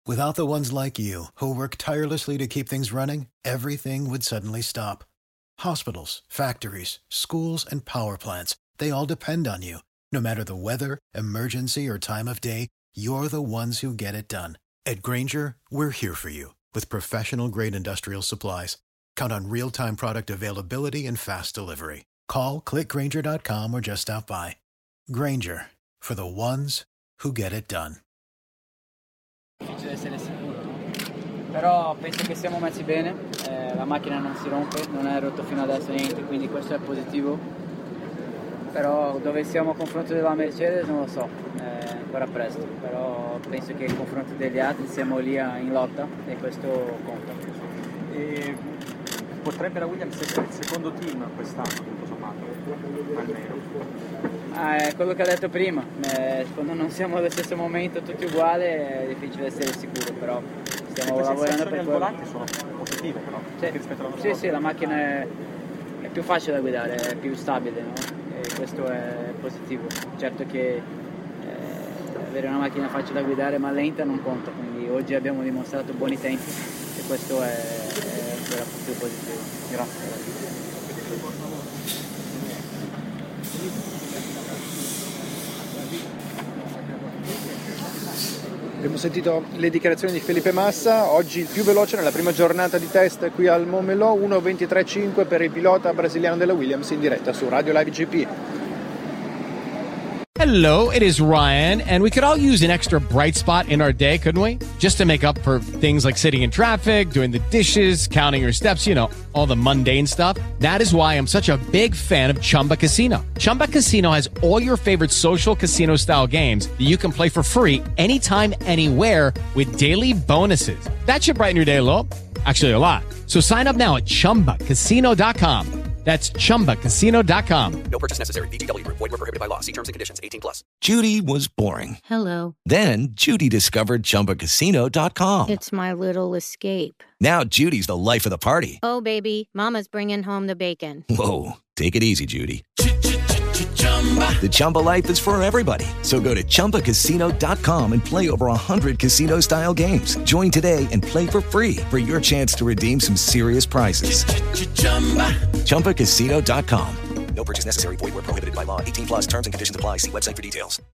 Without the ones like you, who work tirelessly to keep things running, everything would suddenly stop. Hospitals, factories, schools, and power plants, they all depend on you. No matter the weather, emergency, or time of day, you're the ones who get it done. At Grainger, we're here for you with professional-grade industrial supplies. Count on real-time product availability and fast delivery. Call, click Grainger.com or just stop by. Grainger, for the ones who get it done. Difficile essere sicuro, no? Però penso che siamo messi bene, la macchina non si rompe, non è rotto fino adesso niente, quindi questo è positivo. Però dove siamo a confronto della Mercedes non lo so, è ancora presto, però penso che il confronto degli altri siamo lì in lotta e questo conta. E potrebbe la Williams essere il secondo team quest'anno, tutto sommato, almeno. È quello che ho detto prima, quando non siamo allo stesso momento tutti uguali è difficile essere sicuro, però stiamo lavorando per quello. Le volanti sono positive però, rispetto all'anno scorso. Sì, la macchina è più facile da guidare, è più stabile, no? E questo è positivo. Certo che avere una macchina facile da guidare ma lenta non conta, quindi oggi abbiamo dimostrato buoni tempi e questo è ancora più positivo. Grazie. Abbiamo sentito le dichiarazioni di Felipe Massa, oggi il più veloce nella prima giornata di test qui al Montmelò, 1:23.5 per il pilota brasiliano della Williams in diretta su Radio Live GP. Hello, it is Ryan, and we could all use an extra bright spot in our day, couldn't we? Just to make up for things like sitting in traffic, doing the dishes, counting your steps, you know, all the mundane stuff. That is why I'm such a big fan of Chumba Casino. Chumba Casino has all your favorite social casino-style games that you can play for free anytime, anywhere with daily bonuses. That should brighten your day a little. Actually, a lot. So sign up now at ChumbaCasino.com. That's ChumbaCasino.com. No purchase necessary. VGW Group. Void where prohibited by law. See terms and conditions. 18+. Judy was boring. Hello. Then Judy discovered ChumbaCasino.com. It's my little escape. Now Judy's the life of the party. Oh, baby, mama's bringing home the bacon. Whoa, take it easy, Judy. The Chumba life is for everybody. So go to ChumbaCasino.com and play over 100 casino-style games. Join today and play for free for your chance to redeem some serious prizes. ChumbaCasino.com. No purchase necessary. Void where prohibited by law. 18+. Terms and conditions apply. See website for details.